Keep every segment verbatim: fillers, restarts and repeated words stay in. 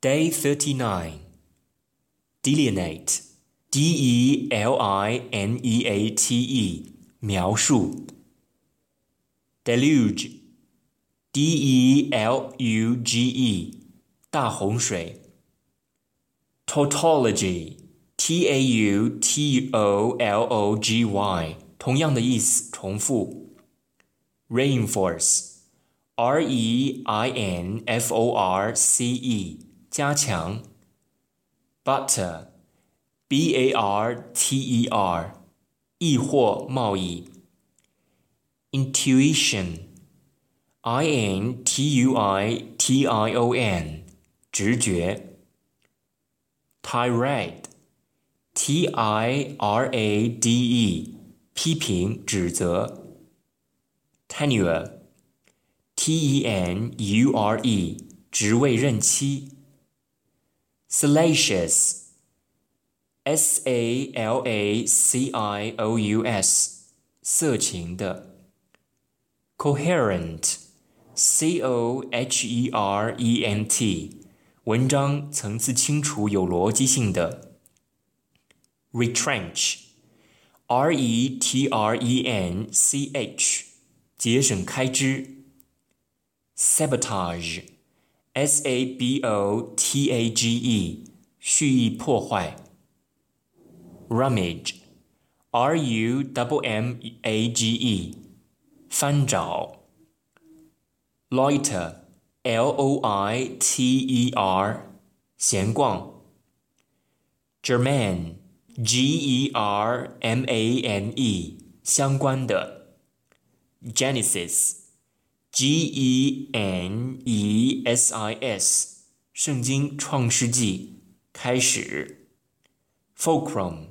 Day thirty-nine. Delineate. D E L I N E A T E. 描述。Deluge. D E L U G E. 大洪水。Tautology. T A U T O L O G Y. 同样的意思，重复。Reinforce. R E I N F O R C E. 加强。Barter. B A R T E R. 易货贸易。Intuition. I N T U I T I O N. 直觉。Tirade. T I R A D E. 批评指责。Tenure. T E N U R E. 职位任期。Salacious. S A L A C I O U S. 色情的。Coherent. C O H E R E N T. 文章层次清楚有逻辑性的。Retrench. R E T R E N C H. 节省开支。Sabotage. S A B O T A G E. 蓄意破坏。Rummage. R U M M A G E. 翻找。Loiter. L O I T E R. 闲逛。Germane. G E R M A N E. 相关的。Genesis. G E N E S I S. 圣经创世纪，开始。Fulcrum.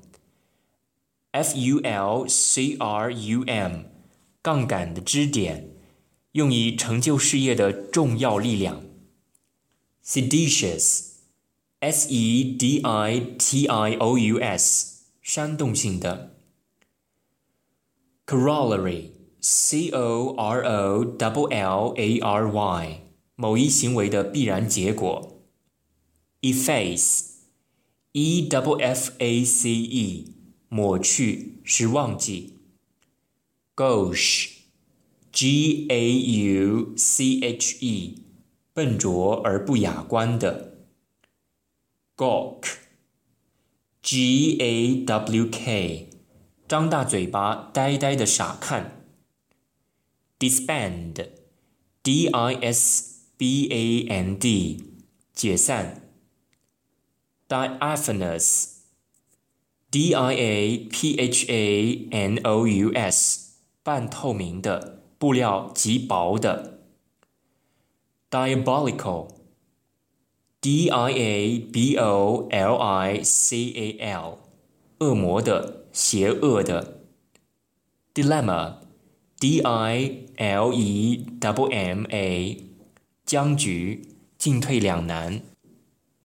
F U L C R U M. 杠杆的支点，用以成就事业的重要力量。Seditious. S E D I T I O U S. 煽动性的。Corollary. C O R O L L A R Y. 某一行为的必然结果。Efface. E F F A C E. 抹去是忘记。Gauche. G A U C H E. 笨拙而不雅观的。Gawk. G A W K. 张大嘴巴呆呆的傻看。Disband. D I S B A N D. 解散。Diaphanous. D I A P H A N O U S. 半透明的，布料极薄的。Diabolical. D I A B O L I C A L. 恶魔的，邪恶的。Dilemma. D I L E M M A. 僵局，进退两难。